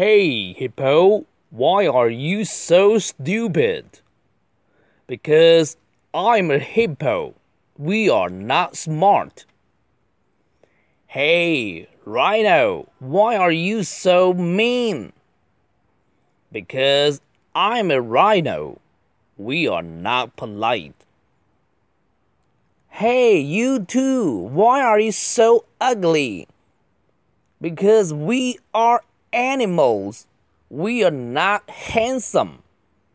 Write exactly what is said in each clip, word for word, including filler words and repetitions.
Hey, hippo, why are you so stupid? Because I'm a hippo. We are not smart. Hey, rhino, why are you so mean? Because I'm a rhino. We are not polite. Hey, you two, why are you so ugly? Because we are animals. We are not handsome.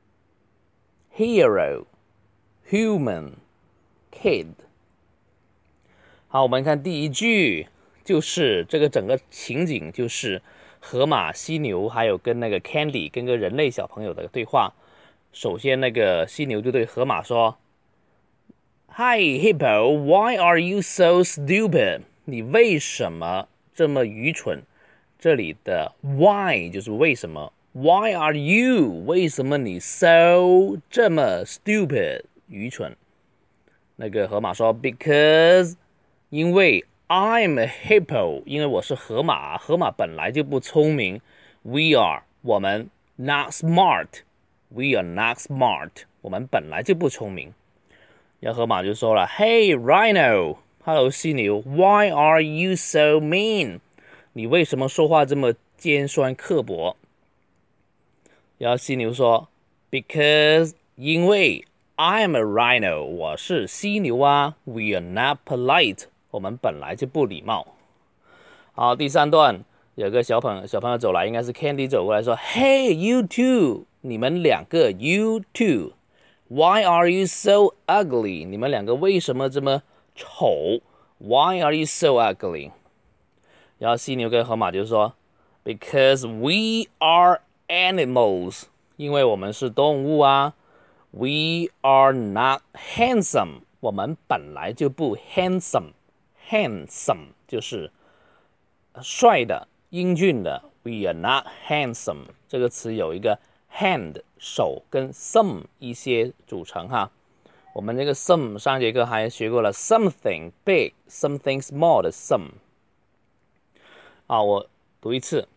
Hero, human, kid. 好，我们看第一句，就是这个整个情景就是河马、犀牛还有跟那个 Candy 跟个人类小朋友的对话。首先，那个犀牛就对河马说 ：“Hi hippo, why are you so stupid？ 你为什么这么愚蠢？”这里的 why 就是为什么 ，Why are you？ 为什么你 so 这么 stupid 愚蠢？那个河马说 ：“Because 因为 I'm a hippo， 因为我是河马，河马本来就不聪明。We are 我们 not smart，We are not smart， 我们本来就不聪明。”然后河马就说了 ：“Hey rhino，Hello 犀牛 ，Why are you so mean？ 你为什么说话这么尖酸刻薄？”然后犀牛说 ：“Because 因为 I'm a rhino， 我是犀牛啊。We are not polite， 我们本来就不礼貌。”好，第三段有个小朋友小朋友走来，应该是 Candy 走过来说 ：“Hey you two， 你们两个 you two。”Why are you so ugly？ 你们两个为什么这么丑 ？Why are you so ugly？ 然后犀牛跟河马就说 ：“Because we are animals， 因为我们是动物啊。We are not handsome， 我们本来就不 handsome。handsome 就是帅的、英俊的。We are not handsome 这个词有一个。hand 手跟 some 一些组成哈，我们这个 some 上节课还学过了 something big something small 的 some。 啊，我读一次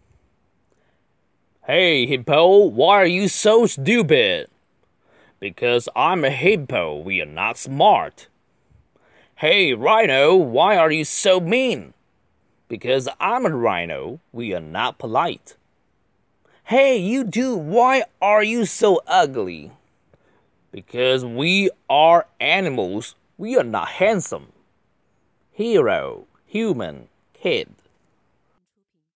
Hey hippo, why are you so stupid? Because I'm a hippo, we are not smart. Hey rhino, why are you so mean? Because I'm a rhino, we are not polite.Hey, you two, why are you so ugly? Because we are animals. We are not handsome. Hero, human, kid.